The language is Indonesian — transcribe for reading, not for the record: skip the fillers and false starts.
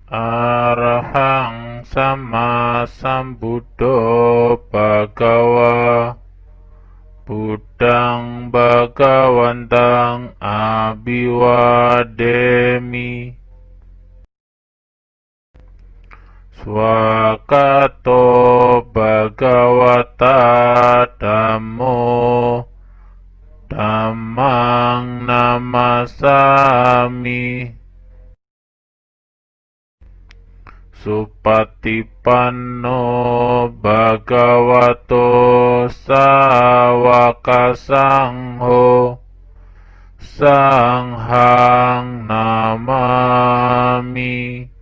Arahang sama sambuddho bhagawa Buddhang bhagawantang abhiwademi Swakato bhagavata dhammo dhammang namasami Supatipanno bhagavato sawaka sangho sanghang namami